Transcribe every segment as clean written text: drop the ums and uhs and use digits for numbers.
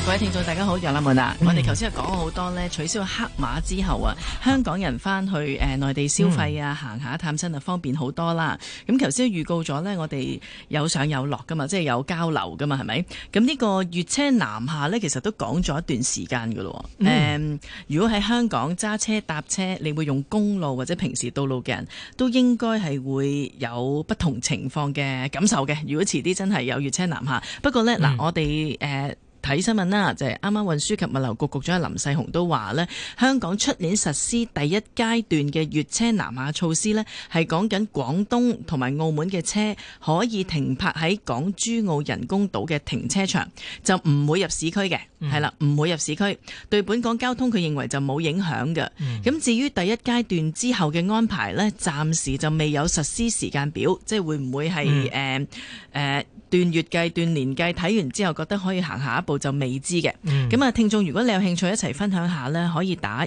各位聽眾大家好，楊立門啊，我哋頭先係講咗好多呢，取消黑碼之後啊，香港人翻去內地消費啊，行下探親啊，方便好多啦。咁頭先預告咗呢，我哋有上有落噶嘛，即係有交流噶嘛，係咪？咁呢個粵車南下呢，其實都講咗一段時間噶咯。如果喺香港揸車搭車，你會用公路或者平時道路嘅人都應該係會有不同情況嘅感受嘅。如果遲啲真係有粵車南下，不過呢，嗱，我哋睇新聞啦，就係啱啱運輸及物流局局長林世雄都話呢，香港出年實施第一階段嘅粵車南下措施呢，係講緊廣東同埋澳門嘅車可以停泊喺港珠澳人工島嘅停車場，就唔會入市區嘅，係啦，唔會入市區，對本港交通佢認為就冇影響嘅。咁至於第一階段之後嘅安排呢，暫時就未有實施時間表，即係會唔會係段月計、段年計，睇完之後覺得可以行下一步就未知嘅。咁聽眾如果你有興趣一齊分享下呢，可以打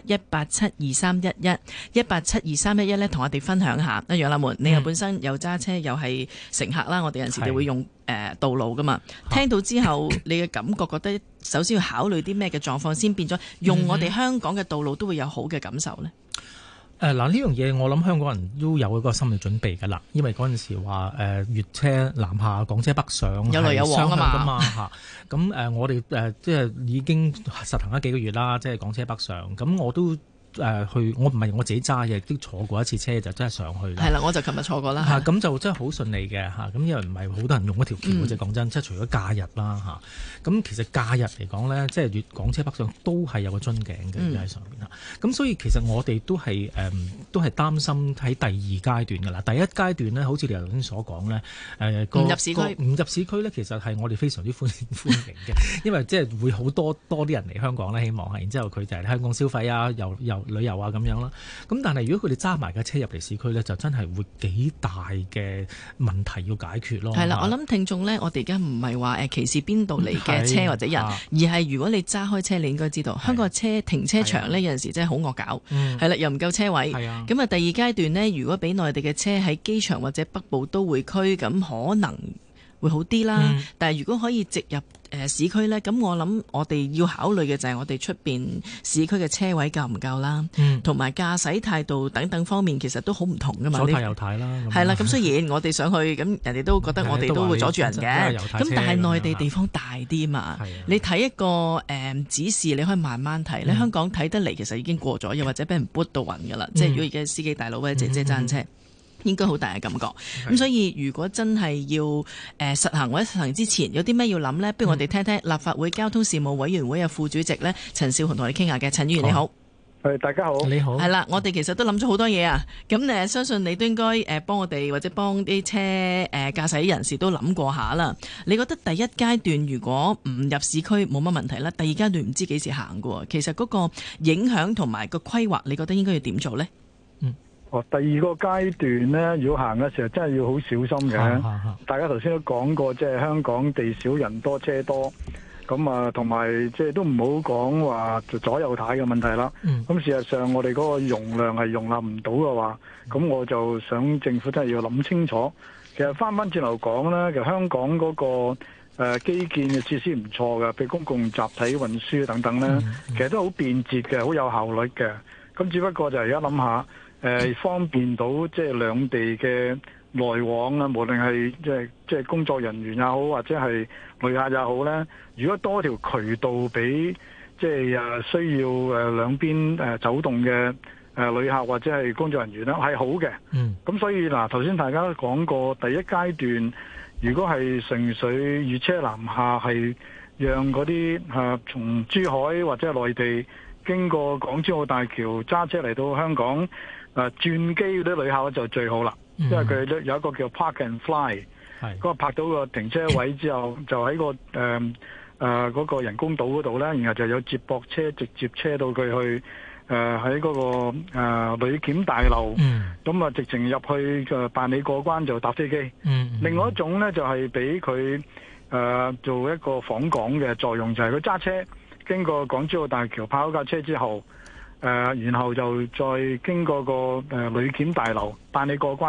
1872311，1872311呢，同我哋分享下。楊立門，你又本身又揸車又係乘客啦，我哋有陣時就會用道路噶嘛。聽到之後，你嘅感覺覺得首先要考慮啲咩嘅狀況先變咗用我哋香港嘅道路都會有好嘅感受呢？ 嗱，呢樣嘢我諗香港人都有一個心理準備㗎啦，因為嗰陣時話粵車南下、港車北上有來有往㗎嘛嚇。咁我哋即係已經實行咗幾個月啦，即係港車北上。咁我都去，我唔係我自己揸嘅，都坐過一次車就真係上去啦。係啦，我就琴日坐過啦。 咁就真係好順利嘅嚇。咁因為唔係好多人用嗰條橋嘅啫，講真，即係除咗假日啦嚇。咁其實假日嚟講咧，即係港車北上都係有個樽頸嘅喺上面啦。咁所以其實我哋都係擔心喺第二階段㗎啦。第一階段咧，好似你頭先所講咧，唔入市區咧，其實係我哋非常之歡迎嘅，因為即係會好多啲人嚟香港咧，希望係，然之後佢就係香港消費啊，又旅遊啊咁樣啦。咁但係如果佢哋揸埋架車入嚟市區咧，就真係會幾大嘅問題要解決咯。係啦， 我諗聽眾咧，我哋而家唔係話歧視邊度嚟嘅車或者人，而係如果你揸開車，你應該知道香港嘅停車場呢，有陣時真係好惡搞，係啦，又唔夠車位。咁啊，第二階段呢，如果俾內地嘅車喺機場或者北部都會區，咁可能會好啲啦。但係如果可以直入市區呢，咁我諗我哋要考慮嘅就係我哋出邊市區嘅車位夠唔夠啦，同埋駕駛態度等等方面其實都好唔同噶嘛。 左軚右軚啦，係啦。咁雖然我哋上去，咁人哋都覺得我哋都會阻住人嘅。咁但係內地地方大啲嘛，你睇一個指示，你可以慢慢睇。你香港睇得嚟，其實已經過咗，又或者俾人撥到暈噶啦。即係如果而家司機大佬或者姐姐揸車，應該好大嘅感覺。咁所以如果真係要實行或者實行之前有啲咩要諗呢？不如我哋聽聽立法會交通事務委員會嘅副主席呢，陳紹雄同我哋傾下嘅。陳議員你好。 大家好。 你好。 係啦，我哋其實都諗咗好多嘢啊。咁相信你都應該幫我哋或者幫啲車駕駛人士都諗過下啦。你覺得第一階段如果唔入市區冇乜問題啦，第二階段唔知幾時行嘅？其實嗰個影響同埋個規劃，你覺得應該要點做呢？ 第二個階段呢，如果行嘅時候真係要好小心嘅。大家頭先都講過，即係香港地少人多車多，咁啊同埋即係都唔好講話左右軚嘅問題啦。咁事實上我哋嗰個容量係容納唔到嘅話，咁我就想政府真係要諗清楚。其實翻轉頭講呢，其實香港嗰個基建嘅設施唔錯嘅，譬如公共集體運輸等等呢，其實都好便捷嘅，好有效率嘅。咁只不過就係而家諗下。方便到即係兩地嘅來往啊，無論係即係工作人員也好，或者係旅客也好咧。如果多條渠道俾即係需要兩邊走動嘅旅客或者係工作人員咧，係好嘅。咁所以嗱，頭先大家都講過，第一階段如果係純粹粵車南下，係讓嗰啲從珠海或者係內地經過港珠澳大橋揸車嚟到香港。轉機嗰啲旅客就最好啦，因為佢有一個叫 Park and Fly，嗰個泊到個停車位之後，就喺個嗰個人工島嗰度咧，然後就有接駁車直接車到佢去喺嗰個旅檢大樓，咁啊直情入去辦理過關就搭飛機。另外一種咧就係俾佢做一個訪港嘅作用，就係佢揸車經過港珠澳大橋泊好架車之後。然後就再經過個旅檢大樓辦理過關，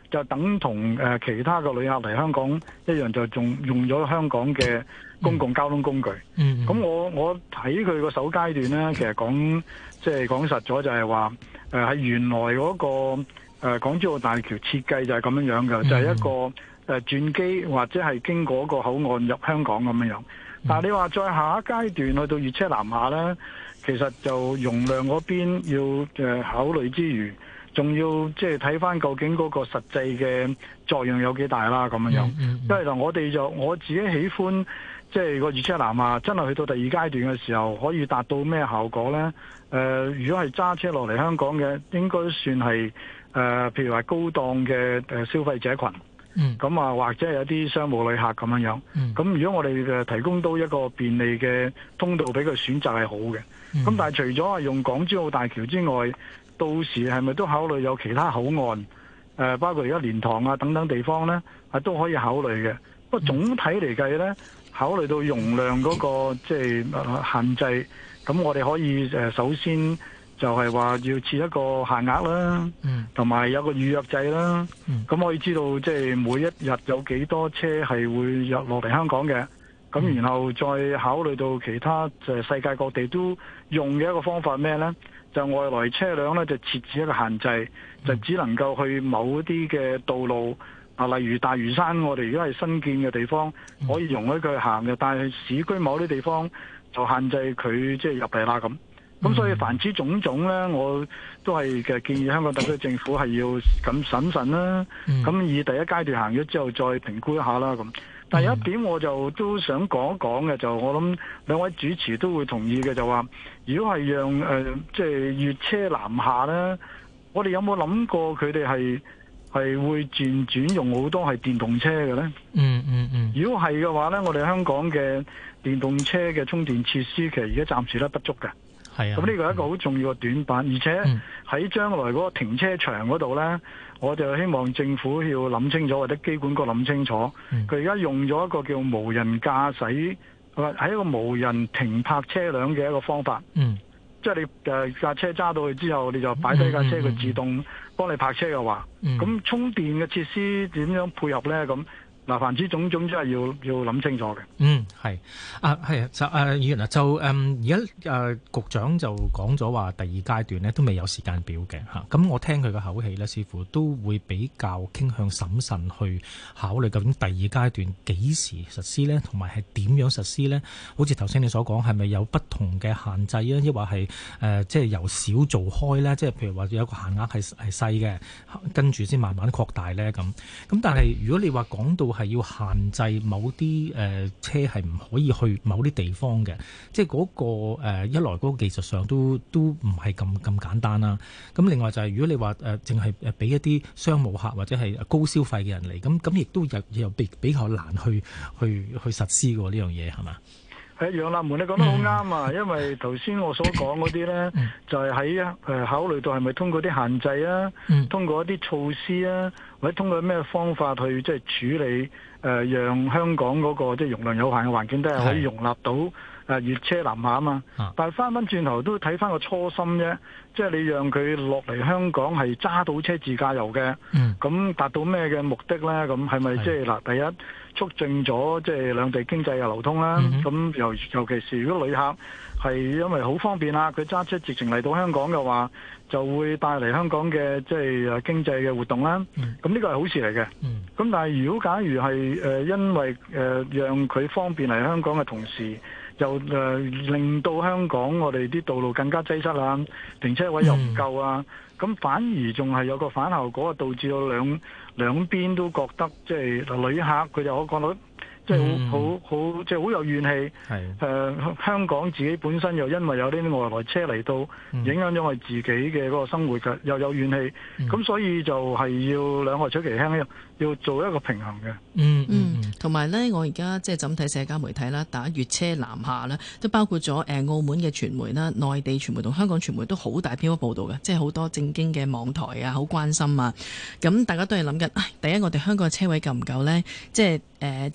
就等同其他嘅旅客嚟香港一樣，就仲用咗香港嘅公共交通工具。咁我睇佢個首階段呢，其實講實咗就係話喺原來嗰個港珠澳大橋設計就係咁樣嘅，就係一個轉機或者係經過個口岸入香港咁樣。但係你話再下一階段去到粵車南下呢，其實就容量嗰邊要考慮之餘，仲要即係睇翻究竟嗰個實際嘅作用有幾大啦咁樣。因為我自己喜歡即係個粵車南下真係去到第二階段嘅時候，可以達到咩效果呢？如果係揸車落嚟香港嘅，應該算係譬如話高檔嘅消費者群。咁啊，或者係有啲商務旅客咁樣。咁如果我哋提供到一個便利嘅通道俾佢選擇係好嘅。咁但係除咗係用港珠澳大橋之外，到時係咪都考慮有其他口岸？包括而家蓮塘啊等等地方呢，都可以考慮嘅。不過總體嚟計呢，考慮到容量嗰個即係限制，咁我哋可以首先就係話要設一個限額啦，同埋有個預約制啦。咁可以知道即係每一日有幾多車係會入落嚟香港嘅。咁然後再考慮到其他世界各地都用嘅一個方法咩呢？就外來車輛呢，就設置一個限制，就只能夠去某啲嘅道路例如大嶼山，我哋而家係新建嘅地方，可以容許佢行嘅，但係市區某啲地方就限制佢即係入嚟啦咁。咁所以凡此種種呢，我都係建議香港特區政府係要咁審慎啦。咁以第一階段行咗之後，再評估一下啦咁。但有一點我就都想講一講嘅，就我諗兩位主持都會同意嘅，就話如果係讓即係粵車南下呢，我哋有冇諗過佢哋係會轉用好多係電動車嘅呢？如果係嘅話呢，我哋香港嘅電動車嘅充電設施其實而家暫時都不足嘅。咁呢個係一個好重要嘅短板，而且喺將來嗰個停車場嗰度呢，我就希望政府要諗清楚，或者機管局諗清楚。佢而家用咗一個叫無人駕駛，係一個無人停泊車輛嘅一個方法。即係你架車揸到去之後，你就擺低架車，佢自動幫你泊車嘅話，咁充電嘅設施點樣配合呢？咁凡此種種真係要諗清楚嘅。 係就議員就而家局長就講咗話第二階段呢都未有時間表嘅嚇。咁我聽佢嘅口氣呢，似乎都會比較傾向審慎去考慮究竟第二階段幾時實施呢，同埋係點樣實施呢？好似頭先你所講，係咪有不同嘅限制啊？抑或係即係由少做開呢？即係譬如話有一個限額係細嘅，跟住先慢慢擴大呢咁。但係如果你話講到係要限制某啲車係唔可以去某啲地方嘅，即係嗰個一來嗰個技術上都唔係咁簡單啦。咁另外就係如果你話淨係俾一啲商務客或者係高消費嘅人嚟，咁亦都又比較難去實施嘅呢樣嘢係嘛？ 楊立門你講得好啱啊！因為頭先我所講嗰啲呢，就係喺考慮到係咪通過啲限制啊，通過一啲措施啊，或者通過咩方法去即係處理讓香港嗰個即係容量有限嘅環境都係可以容納到粵車南下啊嘛。但係翻轉頭都睇翻個初心啫，即係你讓佢落嚟香港係揸到車自駕遊嘅，咁達到咩嘅目的呢？咁係咪即係嗱第一？促進咗即係兩地經濟嘅流通啦，咁尤其是如果旅客係因為好方便啦，佢揸車直情嚟到香港嘅話，就會帶嚟香港嘅即係經濟嘅活動啦。咁呢個係好事嚟嘅。咁但係如果假如係因為讓佢方便嚟香港嘅同時，又令到香港我哋啲道路更加擠塞啦，停車位又唔夠啊，咁反而仲係有個反效果，導致到兩邊都覺得即係旅客佢就可講到即係好即係好有怨氣。香港自己本身又因為有啲外來車嚟到，影響咗我哋自己嘅嗰個生活嘅，又有怨氣。咁所以就係要兩害取其輕，要做一個平衡嘅。 同埋呢，我而家即係怎睇社交媒體啦，打粵車南下啦，都包括咗澳門嘅傳媒啦、內地傳媒同香港傳媒都好大篇幅報導嘅，即係好多正經嘅網台啊，好關心啊。咁大家都係諗緊，第一我哋香港嘅車位夠唔夠呢？即係之前有講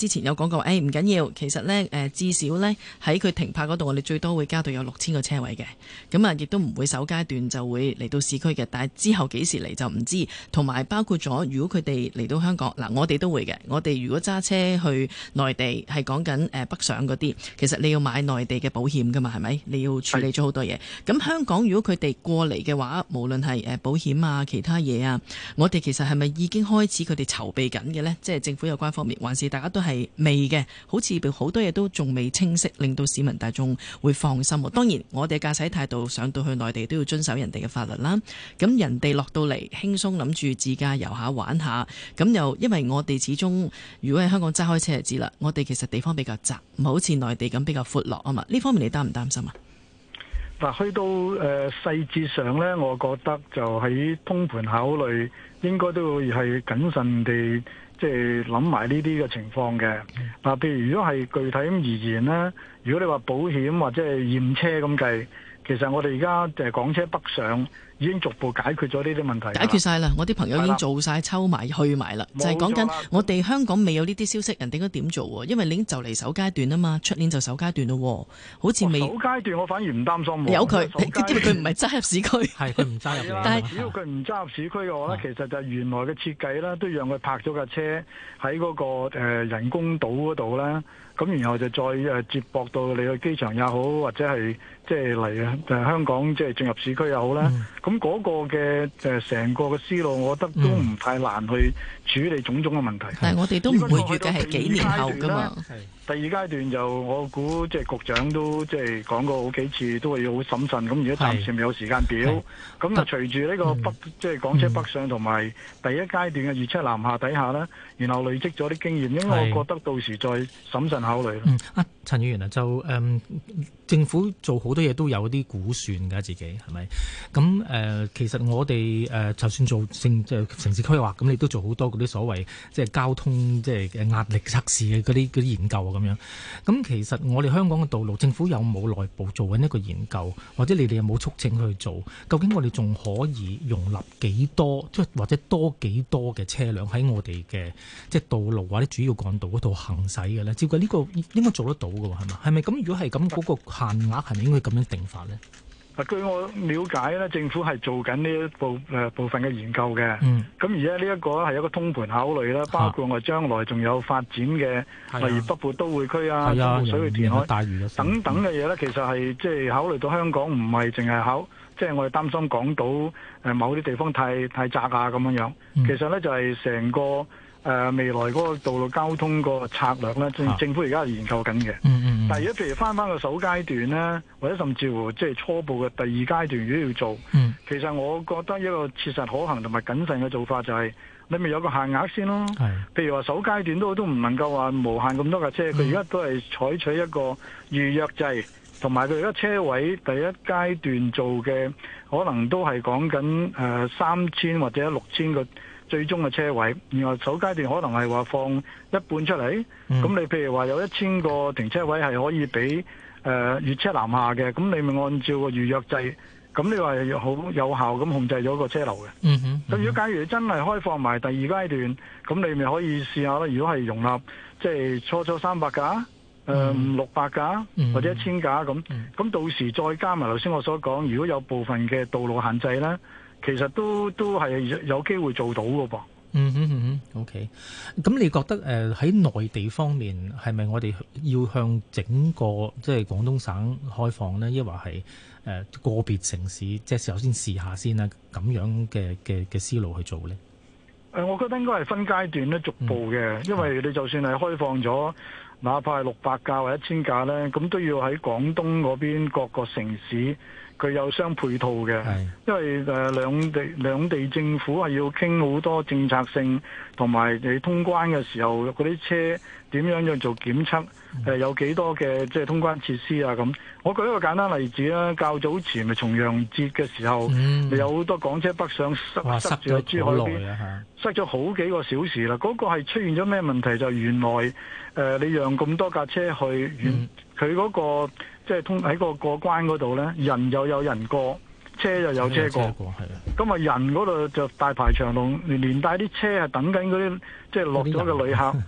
講過，唔緊要，其實呢，至少呢，喺佢停泊嗰度，我哋最多會加到有6000個車位嘅，咁啊亦都唔會首階段就會嚟到市區嘅，但係之後幾時嚟就唔知，同埋包括咗如果佢哋嚟到香港，嗱我哋都會嘅，我哋如果揸車去內地係講緊北上嗰啲，其實你要買內地嘅保險㗎嘛，係咪？你要處理咗好多嘢。咁香港如果佢哋過嚟嘅話，無論係保險啊、其他嘢啊，我哋其實係咪已經開始佢哋籌備緊嘅呢？即係政府有關方面，還是大家都係未嘅？好似好多嘢都仲未清晰，令到市民大眾會放心。當然，我哋駕駛態度上到去內地都要遵守人哋嘅法律啦。咁人哋落到嚟輕鬆諗住自駕遊下玩下，咁又因為我哋始終如果喺香港揸開車就知啦，我哋其實地方比較窄，唔係好似內地咁比較闊落啊嘛。呢方面你擔唔擔心啊？ 嗱，去到細節上呢，我覺得就喺通盤考慮，應該都會係謹慎地即係諗埋呢啲嘅情況嘅。嗱，譬如如果係具體咁而言呢，如果你話保險或者係驗車咁計，其實我哋而家就係港車北上已經逐步解決咗呢啲問題。 解決晒啦，我啲朋友已經做晒抽埋去埋啦，就係講緊我哋香港未有呢啲消息，人哋應該點做喎？因為你已經就嚟首階段啊嘛，出年就首階段咯，好似未。首階段我反而唔擔心。 有佢，因為佢唔係揸入市區。 係佢唔揸入嚟。 但係只要佢唔揸入市區嘅話咧，其實就係原來嘅設計啦，都讓佢泊咗架車喺嗰個人工島嗰度啦。咁然後就再接駁到你去機場也好，或者係即係嚟香港即係進入市區也好啦。咁嗰個嘅成個嘅思路，我覺得都唔太難去處理種種嘅問題。 但係我哋都唔會預計係幾年後㗎嘛。 第二階段就我估即係局長都即係講過好幾次，都係要好審慎。咁而家暫時未有時間表。咁啊，隨住呢個即係港車北上同埋第一階段嘅粵車南下底下呢，然後累積咗啲經驗，因為我覺得到時再審慎考慮。 陳議員啊，就政府做好多嘢都有啲估算㗎，自己係咪？咁其實我哋就算做城市規劃，咁你都做好多嗰啲所謂即係交通即係壓力測試嘅嗰啲研究咁樣。咁其實我哋香港嘅道路，政府有冇內部做緊一個研究，或者你哋有冇促請佢去做？究竟我哋仲可以容納幾多，即係或者多幾多嘅車輛喺我哋嘅即係道路或者主要幹道嗰度行駛嘅咧？照計呢個應該做得到嘅喎，係嘛？係咪咁？如果係咁，嗰個限額係咪應該咁樣定法咧？ 據我了解咧，政府係做緊呢一部分嘅研究嘅。咁而家呢一個係一個通盤考慮啦，包括我將來仲有發展嘅，例如北部都會區啊、中部水域填海等等嘅嘢咧，其實係即係考慮到香港唔係淨係即係我哋擔心港島某啲地方太窄啊咁樣樣。其實咧就係成個未來嗰個道路交通個策略咧，政府而家係研究緊嘅。但係如果譬如翻個首階段咧，或者甚至乎即係初步嘅第二階段，如果要做，其實我覺得一個切實可行同埋謹慎嘅做法就係你咪有個限額先咯。譬如話首階段都唔能夠話無限咁多架車，佢而家都係採取一個預約制，同埋佢而家車位第一階段做嘅可能都係講緊3000或者6000個最終嘅車位，然後首階段可能係話放一半出嚟。咁你譬如話有1000個停車位係可以俾粵車南下嘅，咁你咪按照個預約制，咁你話係好有效咁控制咗個車流嘅。咁如果假如你真係開放埋第二階段，咁你咪可以試下啦。如果係容納即係初300架，600架或者1000架咁到時再加埋頭先我所講，如果有部分嘅道路限制呢，其實都係有機會做到嘅噃。 OK。咁你覺得喺內地方面係咪我哋要向整個即係廣東省開放呢？抑或係個別城市即係首先試下先啦，咁樣嘅思路去做呢？ 我覺得應該係分階段咧，逐步嘅。因為你就算係開放咗，哪怕係600架或者1000架呢，咁都要喺廣東嗰邊各個城市佢有相配套嘅。因為兩地政府係要傾好多政策性，同埋你通關嘅時候嗰啲車點樣做檢測，有幾多嘅即係通關設施啊咁。我舉一個簡單例子啦，較早前咪重陽節嘅時候，有好多港車北上塞住喺珠海邊，塞咗好幾個小時啦。嗰個係出現咗咩問題？就原來你讓咁多架車去，佢嗰個即係喺個過關嗰度呢，人又有人過，車又有車過，咁啊人嗰度就大排長龍，連帶啲車係等緊嗰啲即係落咗嘅旅客。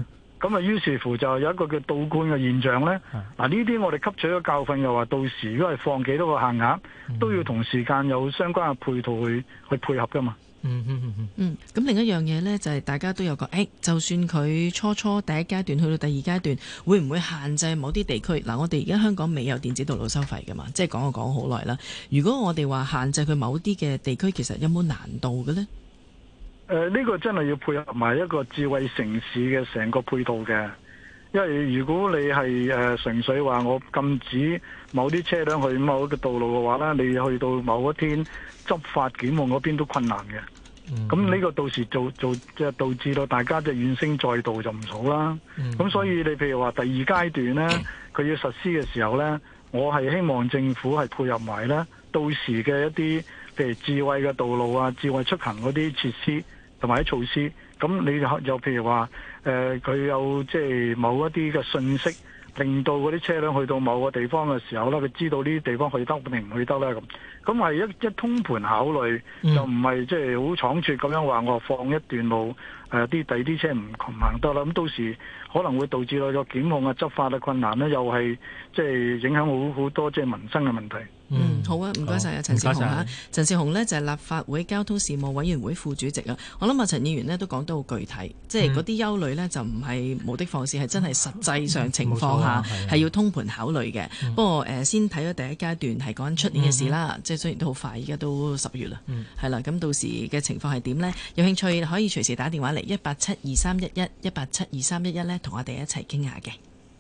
咁啊於是乎就有一個叫倒灌嘅現象呢。嗱，呢啲我哋吸取咗教訓，又話到時如果係放幾多個限額，都要同時間有相關嘅配套去配合噶嘛。 咁另一樣嘢呢，就係大家都有個就算佢初第一階段去到第二階段，會唔會限制某啲地區？嗱，我哋而家香港未有電子道路收費噶嘛，即係講好耐啦。如果我哋話限制佢某啲嘅地區，其實有冇難度嘅呢？ 呢個真係要配合埋一個智慧城市嘅成個配套嘅，因為如果你係純粹話我禁止某啲車輛去某一個道路嘅話呢，你去到某一天執法檢控嗰邊都困難嘅。咁呢個到時即係導致到大家就怨聲載道就唔好啦。咁所以你譬如話第二階段呢，佢要實施嘅時候呢，我係希望政府係配合埋呢到時嘅一啲譬如智慧嘅道路啊、智慧出行嗰啲設施同埋啲措施。咁你又譬如話佢有即係某一啲嘅信息，令到嗰啲車輛去到某個地方嘅時候呢，佢知道呢啲地方去得定唔去得呢。咁係一通盤考慮，就唔係即係好倉促咁樣話我放一段路，第二啲車唔行得啦。咁到時可能會導致到個檢控啊、執法嘅困難呢，又係即係影響好多即係民生嘅問題。 好啊，唔該晒啊，陳紹雄啊。陳紹雄呢就係立法會交通事務委員會副主席啊。我諗陳議員呢都講得好具體，即係嗰啲憂慮呢就唔係無的放矢，係真係實際上情況下係要通盤考慮嘅。不過先睇咗第一階段係講緊出年嘅事啦，即係雖然都好快，而家都10月啦，係啦。咁到時嘅情況係點呢？有興趣可以隨時打電話嚟1872311呢，同我哋一齊傾下嘅。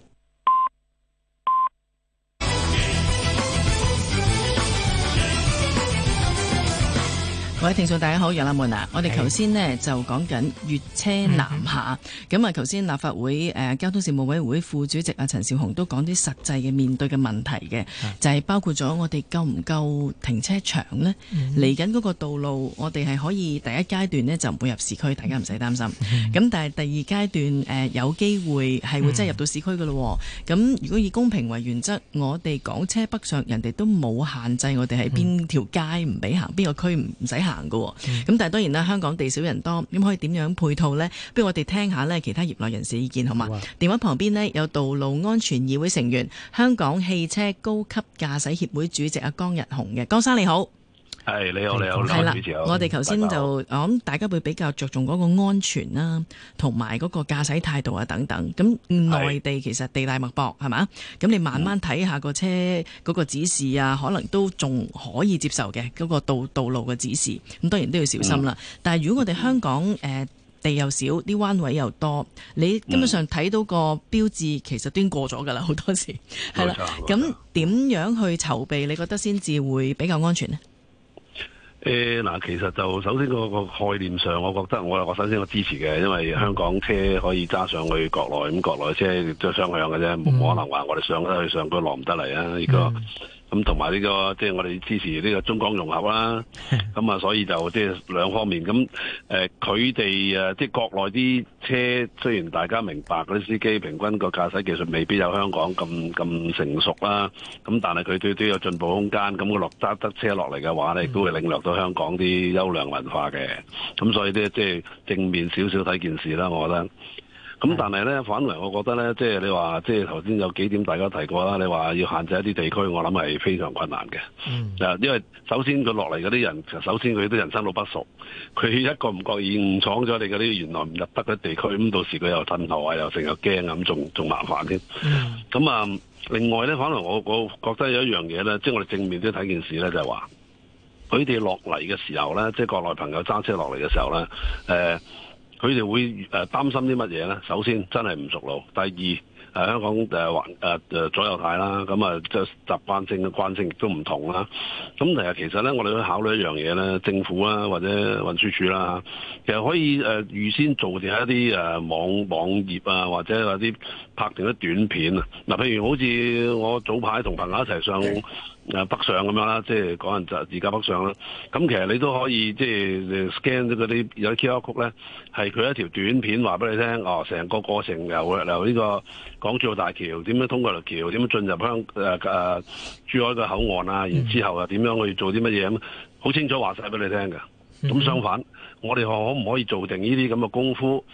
各位聽眾大家好，楊立門啊，我哋頭先呢就講緊粵車南下，咁啊頭先立法會交通事務委員會副主席啊陳紹雄都講啲實際嘅面對嘅問題嘅，就係包括咗我哋夠唔夠停車場呢？嚟緊嗰個道路，我哋係可以第一階段呢就唔會入市區，大家唔使擔心。咁但係第二階段有機會係會真係入到市區㗎咯。咁如果以公平為原則，我哋港車北上，人哋都冇限制我哋喺邊條街唔俾行，邊個區唔使行嘅。咁但係當然啦，香港地少人多，咁可以點樣配套呢？不如我哋聽下呢其他業內人士意見好嘛？電話旁邊呢有道路安全議會成員、香港汽車高級駕駛協會主席阿江日雄嘅。江生你好。 係你好， 係啦，我哋頭先就我諗大家會比較着重嗰個安全啦，同埋嗰個駕駛態度啊等等。咁內地其實地大物博係嘛？咁你慢慢睇下個車嗰個指示啊，可能都仲可以接受嘅嗰個道路嘅指示。咁當然都要小心啦。但係如果我哋香港地又少，啲彎位又多，你基本上睇到個標誌其實都已經過咗㗎啦，好多時係啦。咁點樣去籌備？你覺得先至會比較安全呢？ 嗱，其實就首先個概念上，我覺得我首先我支持嘅，因為香港車可以揸上去國內，咁國內車都雙向嘅啫，冇可能話我哋上得去上區落唔得嚟啊！呢個咁同埋呢個即係我哋支持呢個中港融合啦。咁啊，所以就即係兩方面。咁佢哋即係國內啲車，雖然大家明白嗰啲司機平均個駕駛技術未必有香港咁成熟啦，咁但係佢都有進步空間。咁佢揸得車落嚟嘅話咧，亦都會領略到香港啲優良文化嘅。咁所以咧，即係正面少少睇件事啦，我覺得。咁但係咧，反為我覺得咧，即係你話，即係頭先有幾點大家提過啦。你話要限制一啲地區，我諗係非常困難嘅。因為首先佢落嚟嗰啲人，首先佢都人生路不熟，佢一個唔覺意誤闖咗你嗰啲原來唔入得嘅地區，咁到時佢又褪後啊，又成日驚咁，仲麻煩添。咁啊，另外咧，反為我覺得有一樣嘢咧，即係我哋正面都睇件事咧，就係話佢哋落嚟嘅時候咧，即係國內朋友揸車落嚟嘅時候咧，佢哋會擔心啲乜嘢咧？首先真係唔熟路，第二香港左右軚啦，咁啊即係習慣性嘅慣性亦都唔同啦。咁其實咧，我哋都考慮一樣嘢咧，政府啦或者運輸署啦，其實可以預先做定一啲網頁啊，或者有啲拍定啲短片啊。嗱，譬如好似我早排同朋友一齊上北上咁樣啦，即係講人就自駕北上啦。咁其實你都可以即係 scan 咗嗰啲有啲 QR code 咧，係佢一條短片話俾你聽，成個過程由呢個港珠澳大橋點樣通過條橋，點樣進入珠海嘅口岸啊，然之後又點樣去做啲乜嘢咁，好清楚話晒俾你聽嘅。咁相反，我哋可唔可以做定呢啲咁嘅功夫？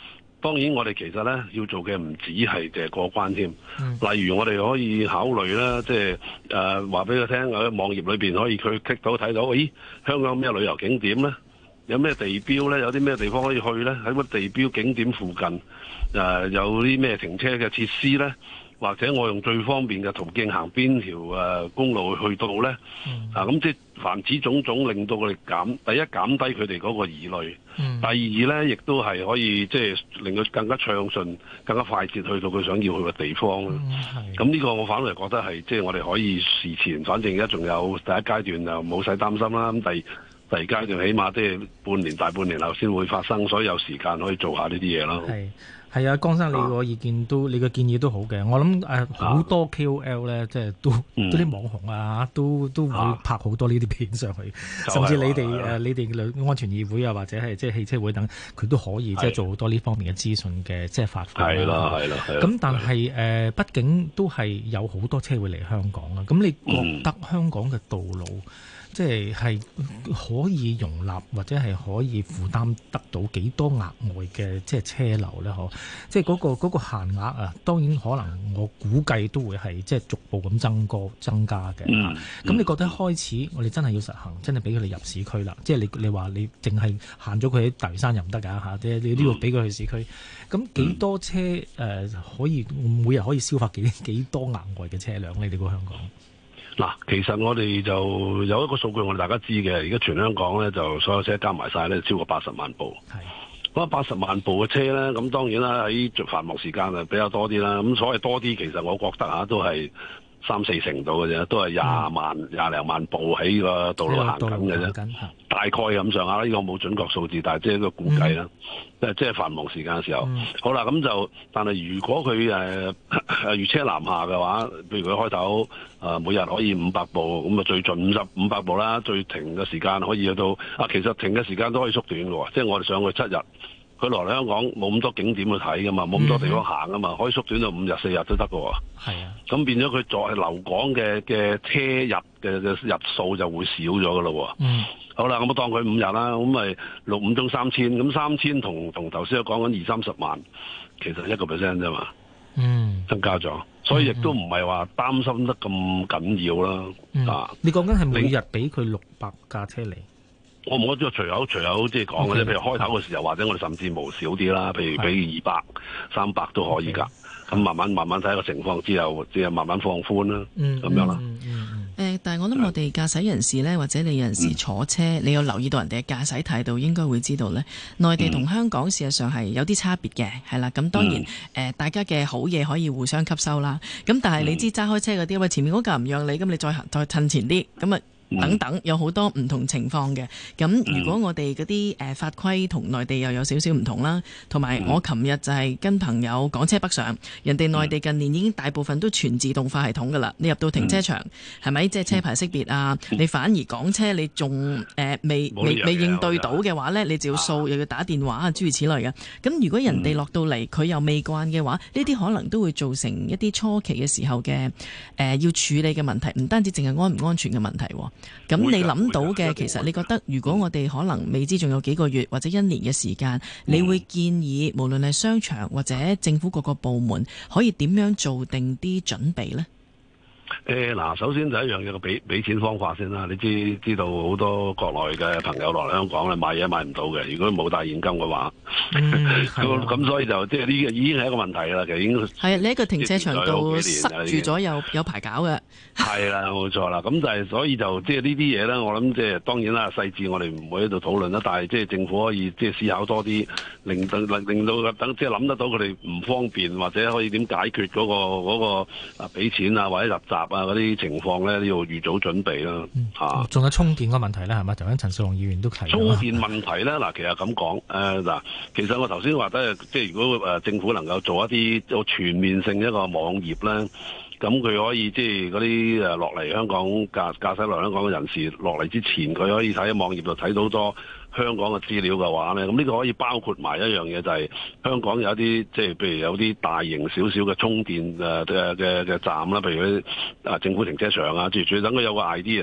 當然我哋其實咧要做嘅唔止係淨係過關添。例如我哋可以考慮啦，即係話俾佢聽，喺網頁裏邊可以佢 click 到睇到，咦，香港有咩旅遊景點咧？有咩地標咧？有啲咩地方可以去咧？喺個地標景點附近，有啲咩停車嘅設施咧？或者我用最方便嘅途徑行邊條公路去到咧？咁即係凡此種種，令到佢哋第一減低佢哋嗰個疑慮，第二咧亦都係可以即係令佢更加暢順、更加快捷去到佢想要去嘅地方啦。咁呢個我反而覺得係即係我哋可以事前，反正而家仲有第一階段就冇使擔心啦。咁第二階段起碼即係大半年後先會發生，所以有時間可以做下呢啲嘢咯。 係啊，江生你個意見都你個建議都好嘅。我諗好多 KOL 咧，即係都啲網紅啊，都會拍好多呢啲片上去，甚至你哋安全議會啊，或者係即係汽車會等，佢都可以即係做好多呢方面嘅資訊嘅即係發放。係啦。咁但係畢竟都係有好多車會嚟香港啦。咁你覺得香港嘅道路即係可以容納或者係可以負擔得到幾多額外嘅即係車流咧？即係嗰個限額啊，當然可能我估計都會係即係逐步咁增加嘅。咁你覺得開始我哋真係要實行，真係俾佢哋入市區啦？即係你話你淨係限咗佢喺大嶼山又唔得㗎嚇，即係你都要俾佢去市區。咁幾多車可以每日可以消化幾多額外嘅車輛？你哋個香港？ 嗱，其實我哋就有一個數據，我哋大家知嘅。而家全香港咧，就所有車加埋晒咧，超過80萬部。咁80萬部嘅車咧，咁當然啦，喺繁忙時間啊比較多啲啦。咁所謂多啲，其實我覺得都係3-4成度嘅啫，都係廿零萬部喺個道路行緊嘅啫。大概咁上下啦，呢個冇準確數字，但係即係一個估計啦。即係繁忙時間嘅時候，好啦，咁就但係如果佢如車南下嘅話，譬如佢開頭每日可以500部，咁啊最盡500部啦，最停嘅時間可以去到其實停嘅時間都可以縮短嘅喎，即係我哋上去7日。佢落嚟香港冇咁多景點去睇噶嘛，冇咁多地方行噶嘛，可以縮短到5日4日都得嘅喎。係啊，咁變咗佢在留港嘅車日嘅日數就會少咗嘅咯喎。好啦，咁我當佢5日啦，咁咪5中3000，咁3000同頭先講緊20-30萬，其實1% 啫嘛。增加咗，所以亦都唔係話擔心得咁緊要啦。 你講緊係每日俾佢600架車嚟？ 我唔覺得隨口即係講嘅啫，譬如開頭嘅時候，或者我哋甚至無少啲啦，譬如俾200-300都可以㗎。咁慢慢睇個情況之後，即係慢慢放寬啦，咁樣啦。 但係我諗我哋駕駛人士呢，或者你有陣時坐車，你有留意到人哋嘅駕駛態度，應該會知道呢，內地同香港事實上係有啲差別嘅，係啦。咁當然大家嘅好嘢可以互相吸收啦。咁但係你知揸開車嗰啲，喂，前面嗰架唔讓你，咁你再褪前啲，咁啊。等等有好多唔同情況嘅，咁如果我哋嗰啲法規同內地又有少少唔同啦，同埋我琴日就係跟朋友港車北上，人哋內地近年已經大部分都全自動化系統㗎啦，你入到停車場係咪即係車牌識別啊？你反而港車你仲未應對到嘅話呢，你就要掃又要打電話啊，諸如此類嘅。咁如果人哋落到嚟佢又未慣嘅話，呢啲可能都會造成一啲初期嘅時候嘅要處理嘅問題，唔單止淨係安唔安全嘅問題。咁你諗到嘅，其實你覺得如果我哋可能未知仲有幾個月或者1年嘅時間，你會建議無論係商場或者政府各個部門可以點樣做定啲準備呢？ 首先第一樣嘢個俾錢方法先啦。你知道好多國內嘅朋友落嚟香港咧買嘢買唔到嘅，如果冇帶現金嘅話，咁所以就即係呢個已經係一個問題啦。其實已經係你喺個停車場度塞住咗有排搞嘅。係啦，冇錯啦。咁但係所以就即係呢啲嘢咧，我諗即係當然啦，細節我哋唔會喺度討論啦。但係即係政府可以即係思考多啲，令到等即係諗得到佢哋唔方便或者可以點解決嗰個俾錢啊或者入閘嗰啲情況咧，都要預早準備啦。 仲有充電個問題咧，係咪？頭先陳紹雄議員都提。 充電問題咧，其實咁講，其實我頭先話得，即係如果政府能夠做一啲做全面性一個網頁咧，咁佢可以即係嗰啲落嚟香港駕駛落香港嘅人士落嚟之前，佢可以喺網頁度睇到好多香港嘅資料嘅話咧，咁呢個可以包括埋一樣嘢，就係香港有一啲即係譬如有啲大型少少嘅充電嘅站啦，譬如啲政府停車場啊，諸如等佢有個 idea，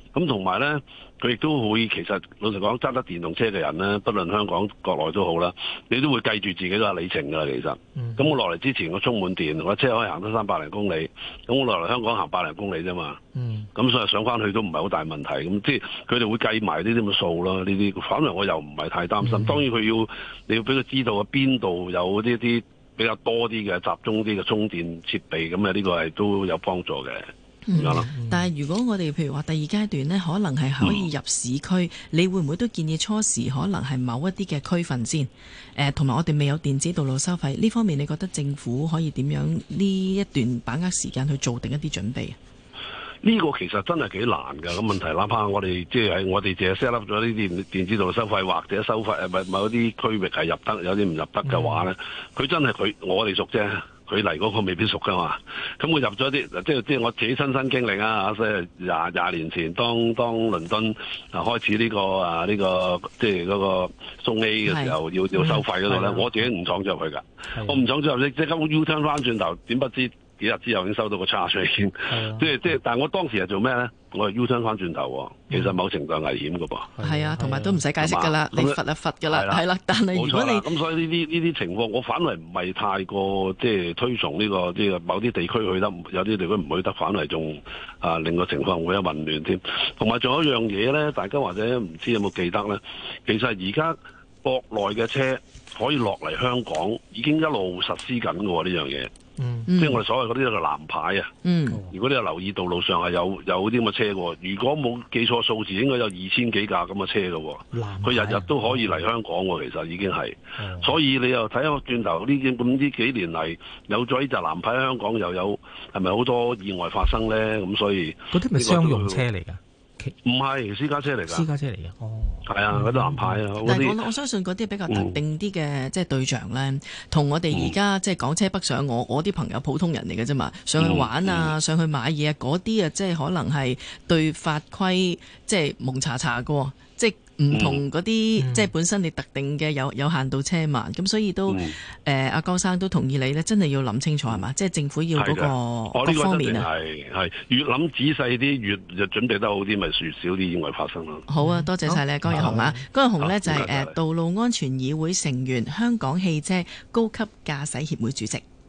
咁同埋咧，佢亦都會其實老實講，揸得電動車嘅人咧，不論香港國內都好啦，你都會計住自己個里程㗎啦。其實，咁我落嚟之前我充滿電，我車可以行得300零公里，咁我落嚟香港行100零公里啫嘛。咁所以上翻去都唔係好大問題。咁即係佢哋會計埋呢啲咁嘅數咯。呢啲反而我又唔係太擔心。當然你要俾佢知道啊，邊度有呢啲比較多啲嘅集中啲嘅充電設備，咁啊呢個係都有幫助嘅。 但係如果我哋譬如話第二階段呢，可能係可以入市區，你會唔會都建議初時可能係某一啲嘅區份先？同埋我哋未有電子道路收費呢方面，你覺得政府可以點樣呢一段把握時間去做定一啲準備？ 呢個其實真係幾難㗎，咁問題哪怕我哋即係我哋淨係 set up 咗呢啲電子道路收費，或者收費某啲區域係入得，有啲唔入得嘅話咧，佢真係我哋熟啫。佢嚟嗰個未必熟噶嘛，咁佢入咗啲，即係我自己親身經歷啊！即係廿年前，當倫敦開始呢個即係嗰個送 A 嘅時候，要收費嗰度咧，我自己唔闖咗入去㗎，我唔闖咗入去，即刻 U turn 翻轉頭，點不知幾日之後已經收到個 charge 已經，但係我當時係做咩咧？我係 U turn 翻轉頭喎，其實某程度係危險㗎噃。係啊，同埋都唔使解釋㗎啦，你罰就罰㗎啦，係啦。但係如果你咁，所以呢啲情況，我反為唔係太過即係推崇呢個即係某啲地區去得，有啲地區唔去得，反為仲令個情況會有混亂添。同埋仲有一樣嘢咧，大家或者唔知有冇記得咧？其實而家國內嘅車可以落嚟香港，已經一路實施緊㗎喎呢樣嘢。即係我哋所謂嗰啲叫做藍牌啊。如果你有留意道路上係有啲咁嘅車喎，如果冇記錯數字，應該有2000幾架咁嘅車嘅喎。佢日日都可以嚟香港喎，其實已經係。所以你又睇下轉頭呢幾年嚟有咗呢隻藍牌喺香港，又有係咪好多意外發生咧？咁所以嗰啲咪商用車嚟㗎？ 唔係私家車嚟㗎， 私家車嚟嘅。 係啊，嗰啲藍牌啊。 但係我相信嗰啲比較特定啲嘅即係對象咧，同我哋而家即係港車北上，我啲朋友普通人嚟嘅啫嘛，上去玩啊，上去買嘢啊，嗰啲啊，即係可能係對法規即係蒙查查嘅，即係唔同嗰啲即係本身你特定嘅有限度車嘛，咁所以都阿江生都同意你咧，真係要諗清楚係嘛，即係政府要嗰個各方面啊， 係越諗仔細啲，越就準備得好啲，咪越少啲意外發生咯。 好啊，多謝晒你，江日雄啊，江日雄呢就係道路安全議會成員，香港汽車高級駕駛協會主席。